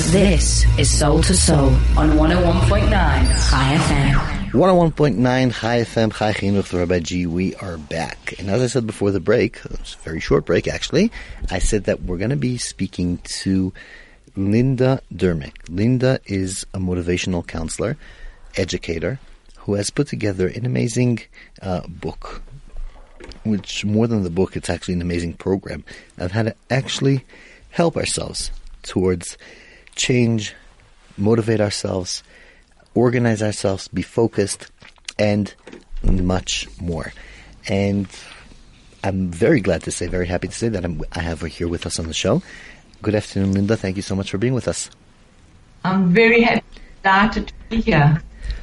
This is Soul to Soul on 101.9 Chai FM. 101.9 Chai FM, Chai Chinuch, the Rabbi G. We are back. And as I said before the break, it was a very short break actually, I said that we're going to be speaking to Linda Dermick. Linda is a motivational counselor, educator, who has put together an amazing book, which more than the book, it's actually an amazing program of how to actually help ourselves towards change, motivate ourselves, organize ourselves, be focused, and much more. And I'm very glad to say, very happy to say that I have her here with us on the show. Good afternoon, Linda. Thank you so much for being with us. I'm very happy to be here.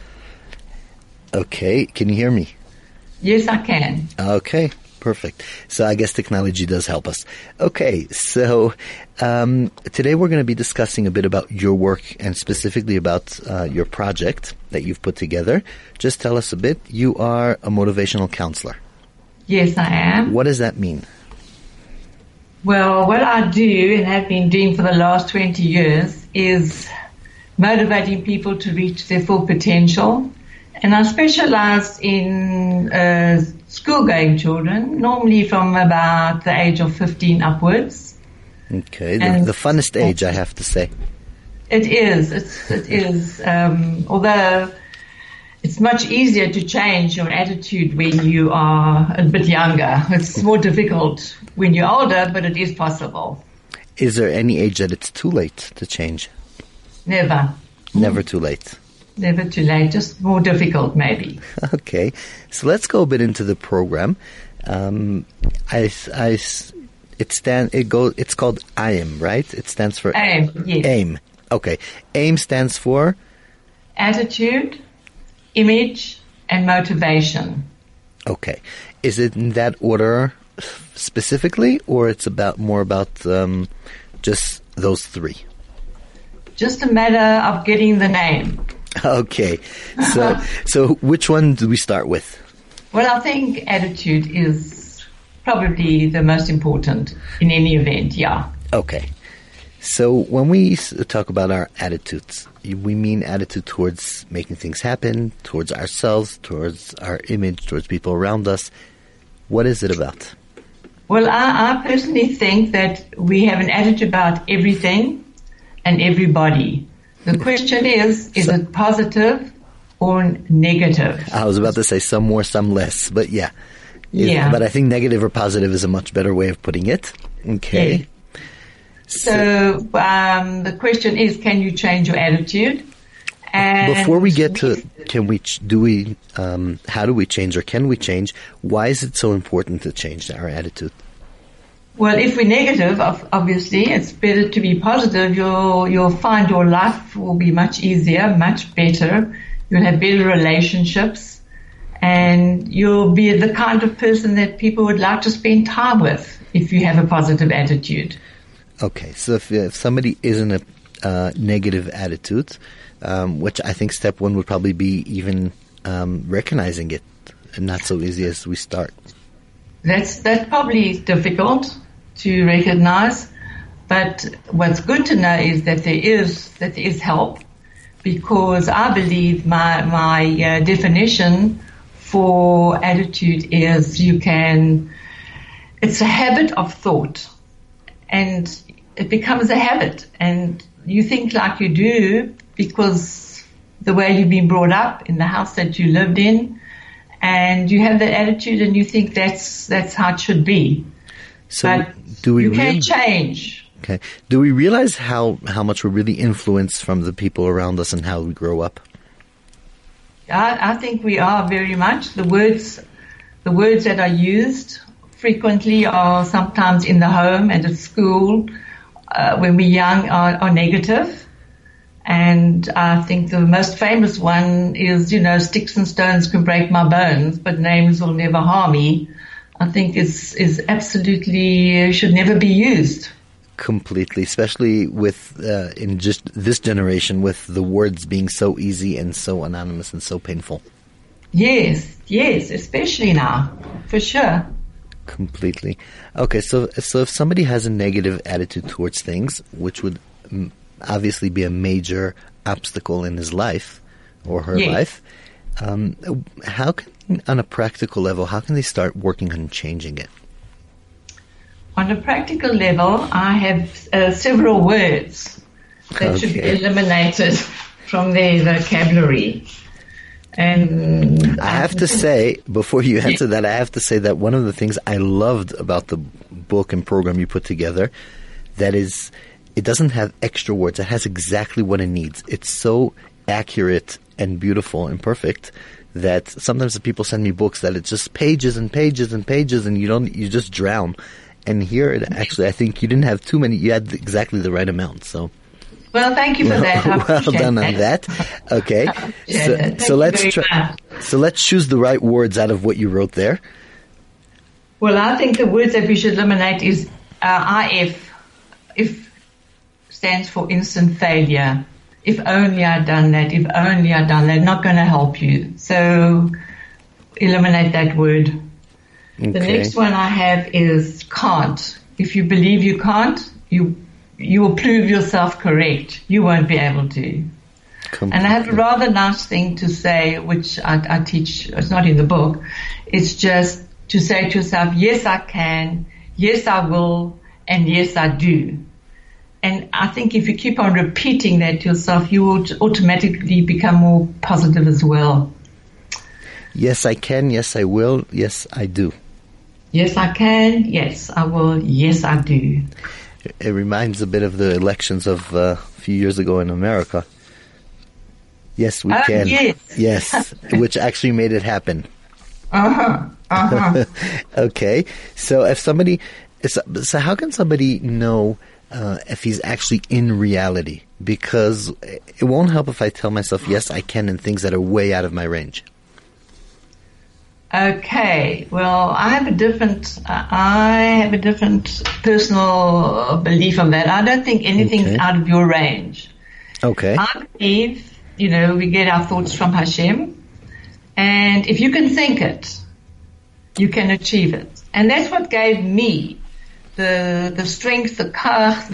Okay, can you hear me? Yes, I can. Okay, perfect. So I guess technology does help us. Okay, so today we're going to be discussing a bit about your work and specifically about your project that you've put together. Just tell us a bit. You are a motivational counselor. Yes, I am. What does that mean? Well, what I do and have been doing for the last 20 years is motivating people to reach their full potential. And I specialize in school-going children, normally from about the age of 15 upwards. Okay, the funnest age, I have to say. It is. It is. Although it's much easier to change your attitude when you are a bit younger. It's more difficult when you're older, but it is possible. Is there any age that it's too late to change? Never. Never too late. Never too late, just more difficult maybe. Okay, so let's go a bit into the program. It's called AIM, right? It stands for AIM, yes. AIM. Okay, AIM stands for attitude, image, and motivation. Okay, is it in that order specifically, or it's more about just those three? Just a matter of getting the name. Okay, so which one do we start with? Well, I think attitude is probably the most important in any event, yeah. Okay, so when we talk about our attitudes, we mean attitude towards making things happen, towards ourselves, towards our image, towards people around us. What is it about? Well, I personally think that we have an attitude about everything and everybody. The question is it positive or negative? I was about to say some more, some less, but yeah. Yeah. But I think negative or positive is a much better way of putting it. Okay. Yeah. So the question is, can you change your attitude? And before we get to how do we change or can we change, why is it so important to change our attitude? Well, if we're negative, obviously, it's better to be positive. You'll find your life will be much easier, much better. You'll have better relationships, and you'll be the kind of person that people would like to spend time with if you have a positive attitude. Okay, so if somebody is in a negative attitude, which I think step one would probably be even recognizing it, and not so easy as we start. That's probably difficult to recognize, but what's good to know is that there is help, because I believe my definition for attitude is it's a habit of thought, and it becomes a habit, and you think like you do because the way you've been brought up in the house that you lived in, and you have that attitude and you think that's how it should be. So but you can change. Okay. Do we realize how much we're really influenced from the people around us and how we grow up? I think we are very much. The words that are used frequently are sometimes in the home and at school when we're young are negative. And I think the most famous one is, sticks and stones can break my bones, but names will never harm me. I think is absolutely should never be used. Completely, especially with in just this generation, with the words being so easy and so anonymous and so painful. Yes, especially now, for sure. Completely. Okay, so if somebody has a negative attitude towards things, which would obviously be a major obstacle in his life or her life. How can, on a practical level, how can they start working on changing it? On a practical level, I have several words that should be eliminated from their vocabulary. And I have to say, before you answer that, I have to say that one of the things I loved about the book and program you put together, that is, it doesn't have extra words. It has exactly what it needs. It's so accurate and beautiful and perfect that sometimes the people send me books that it's just pages and pages and pages, and you just drown. And here, I think you didn't have too many. You had exactly the right amount. So. Well, thank you for that. Well done on that. Okay. So let's try. So let's choose the right words out of what you wrote there. Well, I think the words that we should eliminate is IF. If stands for instant failure. If only I'd done that. If only I'd done that. Not going to help you. So eliminate that word. Okay. The next one I have is can't. If you believe you can't, you will prove yourself correct. You won't be able to. Completely. And I have a rather nice thing to say, which I teach. It's not in the book. It's just to say to yourself, yes, I can. Yes, I will. And yes, I do. And I think if you keep on repeating that to yourself, you will automatically become more positive as well. Yes, I can. Yes, I will. Yes, I do. Yes, I can. Yes, I will. Yes, I do. It reminds a bit of the elections of a few years ago in America. Yes, we can. Yes, which actually made it happen. Okay, so if somebody, so how can somebody know if he's actually in reality? Because it won't help if I tell myself yes, I can, in things that are way out of my range. Okay, well, I have a different personal belief on that. I don't think anything's out of your range. Okay. I believe, we get our thoughts from Hashem, and if you can think it, you can achieve it. And that's what gave me the strength, the kach,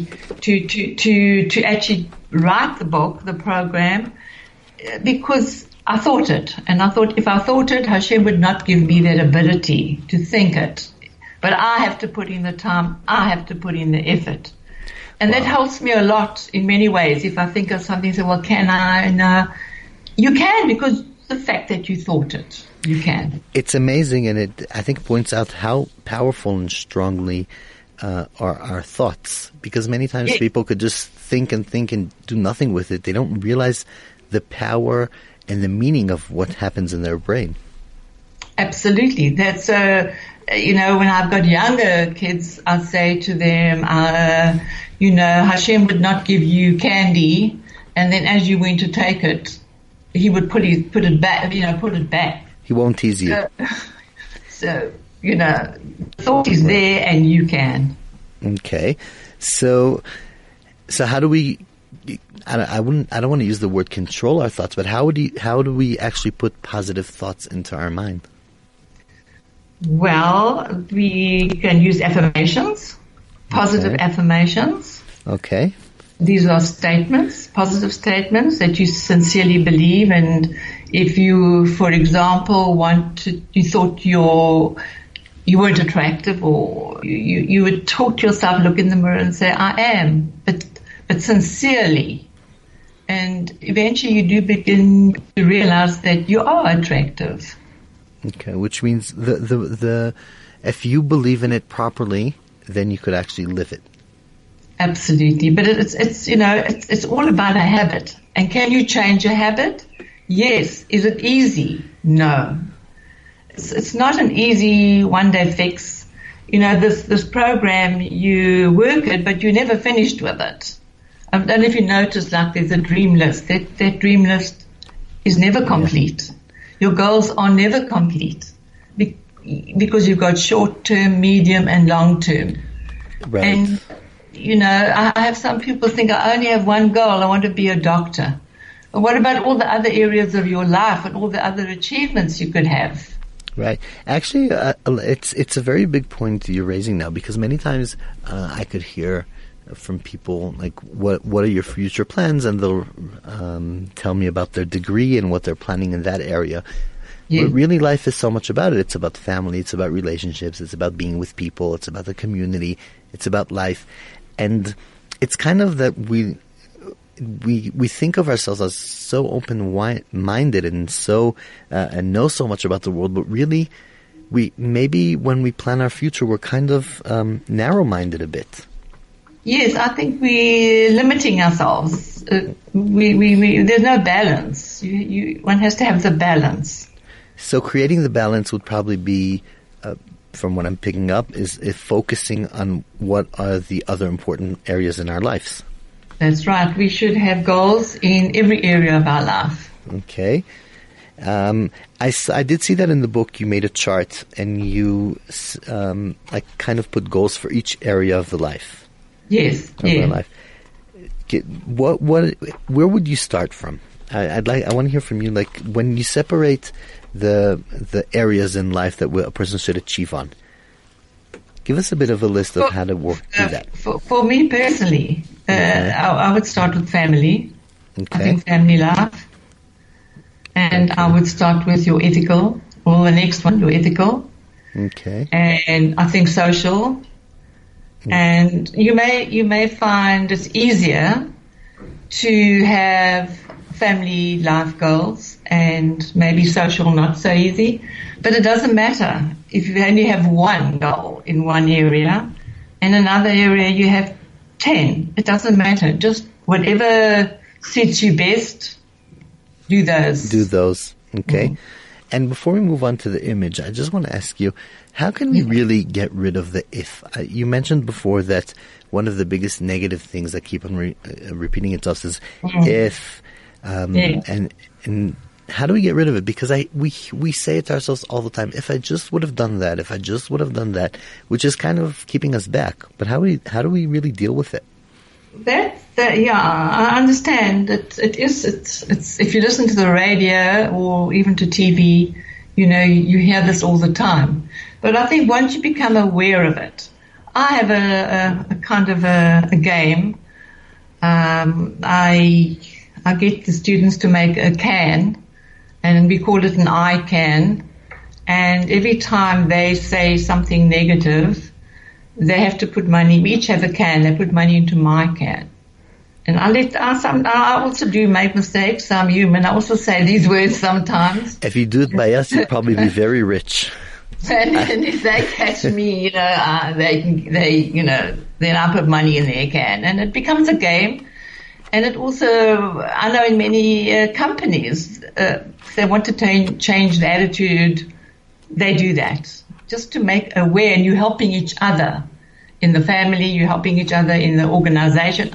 to actually write the book, the program, because I thought it, and I thought if I thought it, Hashem would not give me that ability to think it. But I have to put in the time, I have to put in the effort. And that helps me a lot in many ways. If I think of something, say, well, can I? No. You can, because the fact that you thought it, you can. It's amazing, and it, I think, points out how powerful and strongly are our thoughts. Because many times people could just think and do nothing with it. They don't realize the power and the meaning of what happens in their brain. Absolutely. That's, when I've got younger kids, I say to them, Hashem would not give you candy, and then as you went to take it, he would put it back. He won't tease you. So the thought is there, and you can. Okay. So how do we, I don't want to use the word control our thoughts, but how do we actually put positive thoughts into our mind? Well, we can use affirmations, positive affirmations. Okay. These are statements, positive statements that you sincerely believe. And if you, for example, you thought you weren't attractive, or you would talk to yourself, look in the mirror and say, I am, but sincerely. And eventually you do begin to realize that you are attractive. Okay, which means the if you believe in it properly, then you could actually live it. Absolutely, but it's all about a habit. And can you change a habit? Yes. Is it easy? No. It's not an easy one-day fix. This program, you work it, but you're never finished with it. I don't know if you notice, like there's a dream list. That dream list is never complete. Yeah. Your goals are never complete because you've got short-term, medium, and long-term. Right. And, I have some people think I only have one goal. I want to be a doctor. But what about all the other areas of your life and all the other achievements you could have? Right. Actually, it's a very big point you're raising now, because many times I could hear from people, like what are your future plans, and they'll tell me about their degree and what they're planning in that area. Yeah. But really, life is so much about it. It's about family. It's about relationships. It's about being with people. It's about the community. It's about life. And it's kind of that we think of ourselves as so open-minded and so and know so much about the world, but really, maybe when we plan our future, we're kind of narrow-minded a bit. Yes, I think we're limiting ourselves. There's no balance. One has to have the balance. So creating the balance would probably be, from what I'm picking up, is focusing on what are the other important areas in our lives. That's right. We should have goals in every area of our life. Okay. I did see that in the book. You made a chart and you kind of put goals for each area of the life. Yes. Of our life. Where would you start from? I want to hear from you. Like when you separate the areas in life that a person should achieve on. Give us a bit of a list of how to work through that. For me personally, I would start with family. Okay. I think family life. And I would start with your ethical, or the next one, your ethical. Okay. And I think social. And you may find it's easier to have family life goals and maybe social not so easy. But it doesn't matter if you only have one goal in one area, in another area you have 10. It doesn't matter. Just whatever suits you best, do those. Okay. Mm-hmm. And before we move on to the image, I just want to ask you, how can we really get rid of the if? You mentioned before that one of the biggest negative things that keep on repeating itself is if, and how do we get rid of it? Because we say it to ourselves all the time, if I just would have done that, if I just would have done that, which is kind of keeping us back. But how do we really deal with it? I understand that it's if you listen to the radio or even to TV, you hear this all the time. But I think once you become aware of it, I have a kind of a game. I get the students to make a can, and we call it an I can. And every time they say something negative, they have to put money. We each have a can. They put money into my can. And I also do make mistakes. I'm human. I also say these words sometimes. If you do it by us, you'd probably be very rich. And if they catch me, then I put money in their can. And it becomes a game. And it also, I know in many companies, if they want to change the attitude, they do that. Just to make aware, and you're helping each other in the family, you're helping each other in the organization,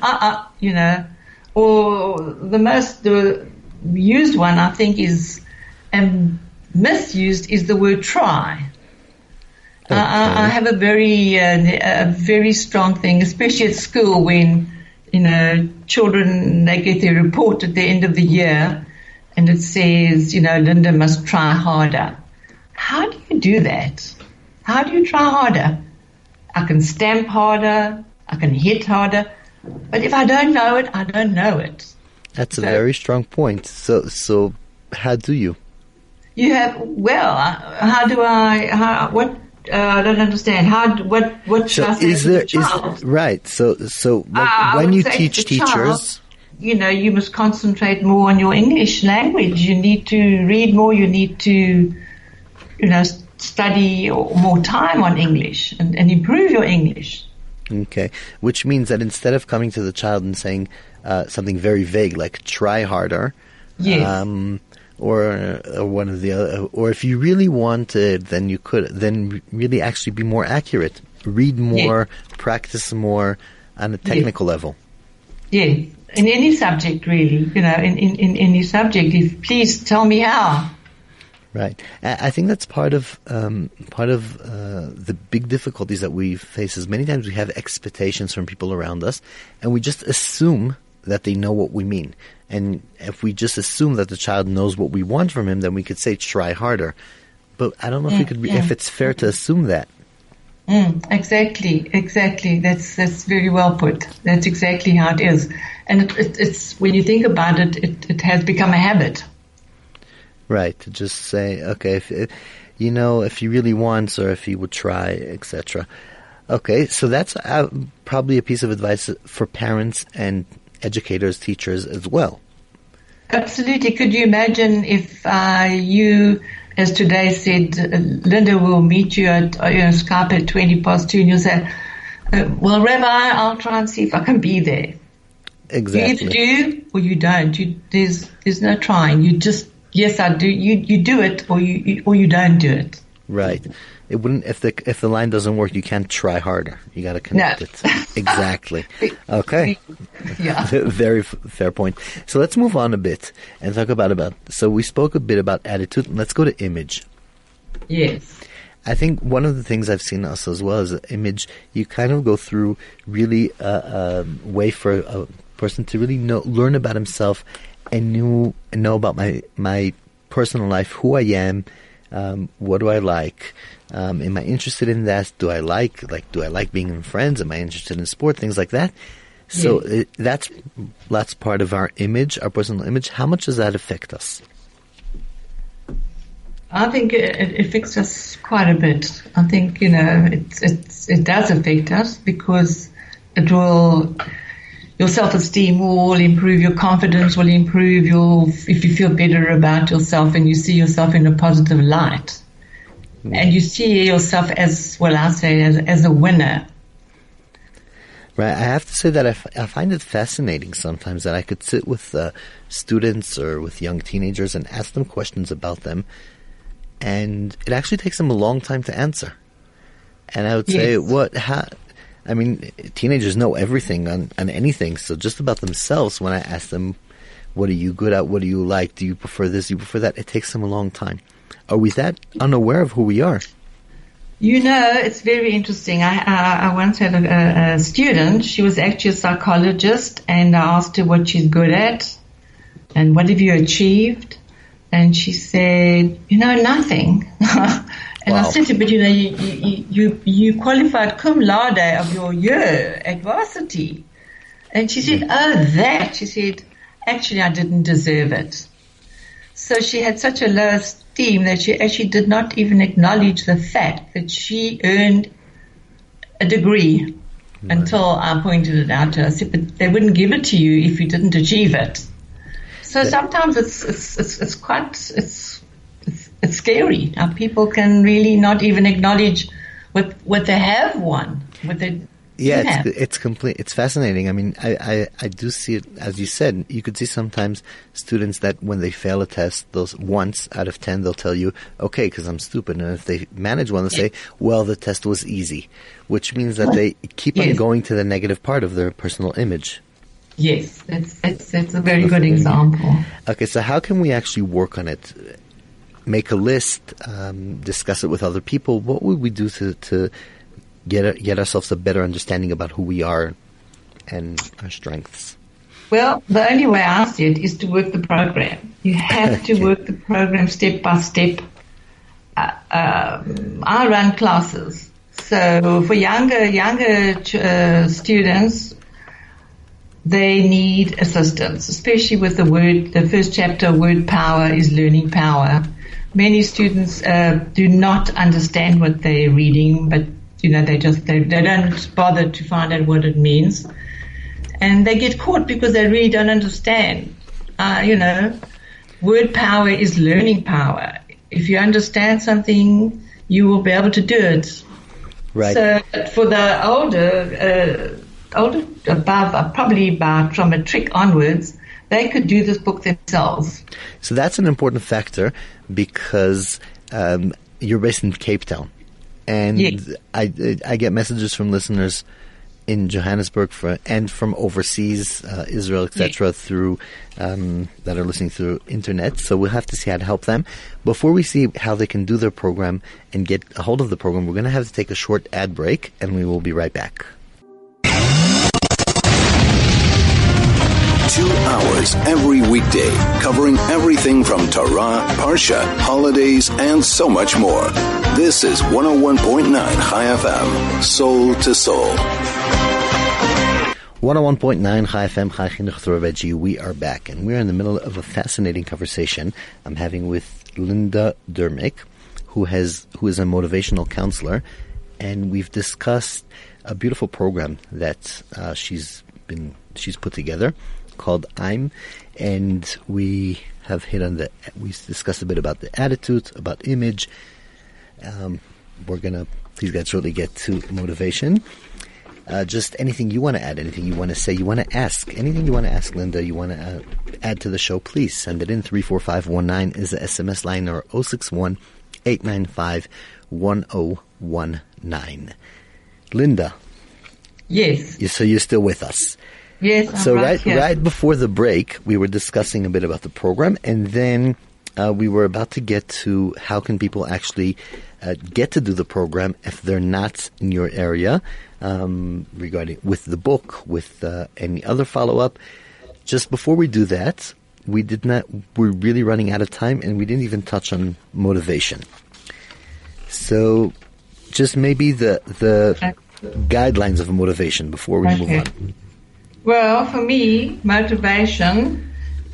or the used one, I think, is, and misused is the word try. Okay. I have a very strong thing, especially at school when, children, they get their report at the end of the year and it says, Linda must try harder. How do you do that? How do you try harder? I can stamp harder. I can hit harder. But if I don't know it, I don't know it. That's a very strong point. So how do you? You have, how do I, I don't understand. What should I say to the child? Right. So when you teach teachers, child, you must concentrate more on your English language. You need to read more. You need to, study more time on English and improve your English. Okay. Which means that instead of coming to the child and saying something very vague like try harder, yes. Or one of the other, or if you really wanted, then you could, then really actually be more accurate. Read more, practice more on a technical level. Yeah, in any subject really, in any subject. Please tell me how. Right. I think that's part of the big difficulties that we face is many times we have expectations from people around us and we just assume that they know what we mean. And if we just assume that the child knows what we want from him, then we could say try harder. But I don't know if we could if it's fair to assume that. Exactly. That's very well put. That's exactly how it is. And it's when you think about it, it has become a habit. Right. To just say, okay, if he really wants, or if he would try, etc. Okay, so that's probably a piece of advice for parents and educators, teachers as well. Absolutely. Could you imagine if you, as today said, Linda will meet you at Skype at 2:20, and you'll say, well, Rabbi, I'll try and see if I can be there. Exactly. You either do or you don't. There's no trying. You just, yes, I do. You do it or you don't do it. Right. It wouldn't, if the line doesn't work, you can't try harder. You got to connect it. Exactly. Okay. Yeah. Very fair point. So let's move on a bit and talk about. So we spoke a bit about attitude. Let's go to image. Yes. I think one of the things I've seen also as well is image. You kind of go through really a way for a person to really learn about himself and know about my personal life, who I am. What do I like? Am I interested in that? Do I like being in friends? Am I interested in sport? Things like that. So that's part of our image, our personal image. How much does that affect us? I think it affects us quite a bit. I think, it does affect us because your self-esteem will improve, your confidence will improve, if you feel better about yourself and you see yourself in a positive light. And you see yourself as a winner. Right. I have to say that I find it fascinating sometimes that I could sit with students or with young teenagers and ask them questions about them, and it actually takes them a long time to answer. And I would say, teenagers know everything on anything. So just about themselves, when I ask them, what are you good at? What do you like? Do you prefer this? Do you prefer that? It takes them a long time. Are we that unaware of who we are? It's very interesting. I once had a student. She was actually a psychologist, and I asked her what she's good at and what have you achieved. And she said, nothing. And Wow. I said to her, but you qualified cum laude of your year at varsity. And she said, she said, actually I didn't deserve it. So she had such a low esteem that she actually did not even acknowledge the fact that she earned a degree until I pointed it out to her. I said, but they wouldn't give it to you if you didn't achieve it. So sometimes it's scary how people can really not even acknowledge what they have won, what they have. It's fascinating. I mean, I do see it, as you said. You could see sometimes students that when they fail a test, those once out of 10, they'll tell you, okay, because I'm stupid. And if they manage one, they'll say, well, the test was easy, which means that they keep on going to the negative part of their personal image. Yes, that's a very good example. Okay, so how can we actually work on it? Make a list, discuss it with other people. What would we do to get ourselves a better understanding about who we are and our strengths? Well, the only way I see it is to work the program. You have to work the program step by step. I run classes, so for younger students, they need assistance, especially with the first chapter, word power is learning power. Many students do not understand what they're reading, but they don't bother to find out what it means, and they get caught because they really don't understand. Word power is learning power. If you understand something, you will be able to do it. Right. So for the older above, probably from matric onwards, they could do this book themselves. So that's an important factor because you're based in Cape Town. And yes. I get messages from listeners in Johannesburg and from overseas, Israel, etc., yes. through that are listening through internet. So we'll have to see how to help them. Before we see how they can do their program and get a hold of the program, we're going to have to take a short ad break, and we will be right back. 2 hours every weekday, covering everything from Torah, Parsha, holidays, and so much more. This is 101.9 Chai FM, Soul to Soul. 101.9 Chai FM, Chai Chinuch through Rabbi G. We are back, and we're in the middle of a fascinating conversation I'm having with Linda Dermick, who is a motivational counselor, and we've discussed a beautiful program that she's put together called I'm, and we discussed a bit about the attitude, about image. We're gonna, please God, shortly get to motivation. Just anything you want to add, anything you want to say, you want to ask, anything you want to ask Linda, you want to add to the show, please send it in. 34519 is the SMS line, or 061-895-1019. Linda. Yes. So you're still with us. Yes, I'm so right before the break, we were discussing a bit about the program, and then we were about to get to how can people actually get to do the program if they're not in your area, regarding with the book, with any other follow-up. Just before we do that, we're really running out of time, and we didn't even touch on motivation. So just maybe the guidelines of motivation before we move on. Well, for me, motivation,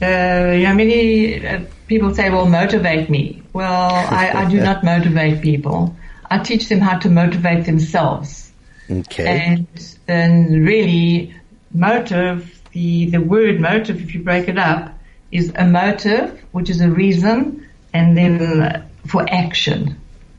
many people say, well, motivate me. Well, I do not motivate people. I teach them how to motivate themselves. Okay. And really, motive, the word motive, if you break it up, is a motive, which is a reason, and then for action.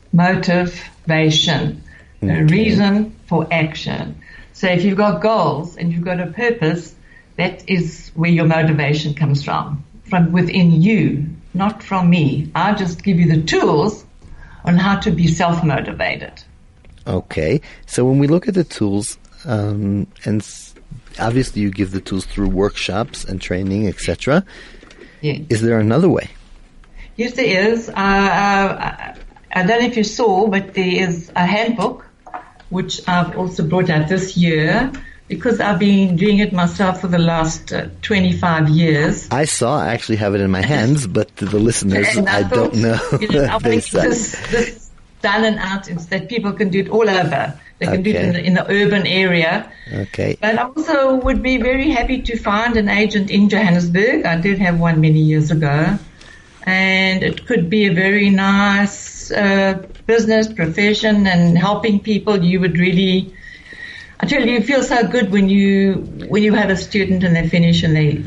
Motivation. Okay. A reason for action. So if you've got goals and you've got a purpose, that is where your motivation comes from within you, not from me. I just give you the tools on how to be self-motivated. Okay. So when we look at the tools, and obviously you give the tools through workshops and training, etc. Yes. Is there another way? Yes, there is. I don't know if you saw, but there is a handbook which I've also brought out this year, because I've been doing it myself for the last 25 years. I actually have it in my hands, but to the listeners, I don't know. I think this done and out is that people can do it all over. They can do it in the urban area. Okay. But I also would be very happy to find an agent in Johannesburg. I did have one many years ago. And it could be a very nice business profession, and helping people. You would really, I tell you feel so good when you have a student and they finish and they've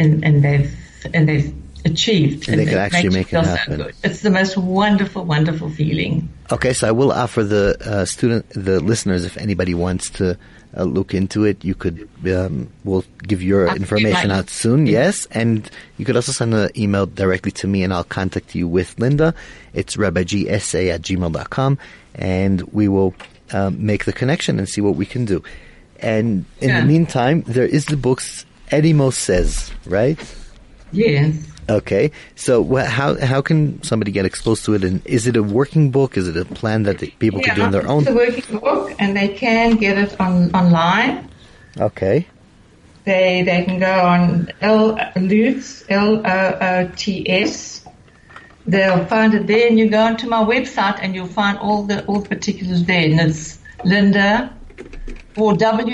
achieved, and they can actually make it happen. So it's the most wonderful feeling. Okay, so I will offer the listeners, if anybody wants to look into it, you could, we'll give your information out soon, yes, and you could also send an email directly to me, and I'll contact you with Linda. It's rabbigsa@gmail.com, and we will make the connection and see what we can do. And in the meantime, there is the books Eddie Most Says, right? Yes. Okay, so how can somebody get exposed to it? And is it a working book? Is it a plan that people can do on their own? It's a working book, and they can get it online. Okay. They can go on Loots, Loots. They'll find it there, and you go onto my website, and you'll find all the particulars there. And it's Linda, or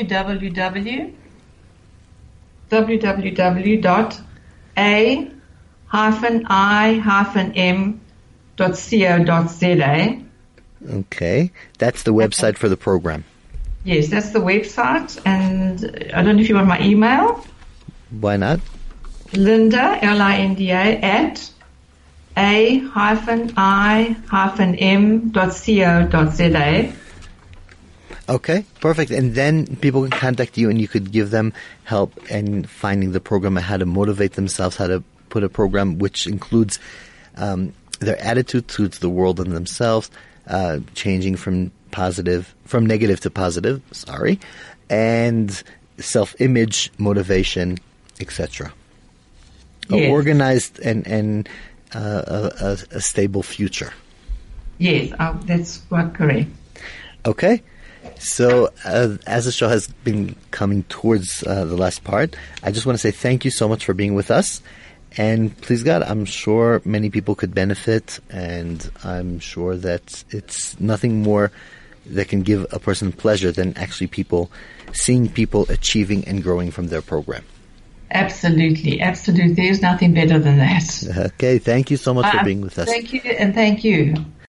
www.a-i-m.co.za. Okay, that's the website for the program. Yes, that's the website, and I don't know if you want my email. Why not? Linda, Linda, at a-i-m.co.za. Okay, perfect. And then people can contact you, and you could give them help in finding the program and how to motivate themselves, how to put a program which includes their attitude towards the world and themselves, changing from negative to positive, and self-image, motivation, etc. Yes. Organized and a stable future. Yes, that's quite correct. Okay. So, as the show has been coming towards the last part, I just want to say thank you so much for being with us. And please God, I'm sure many people could benefit, and I'm sure that it's nothing more that can give a person pleasure than actually seeing people achieving and growing from their program. Absolutely, absolutely. There's nothing better than that. Okay, thank you so much for being with us. Thank you, and thank you.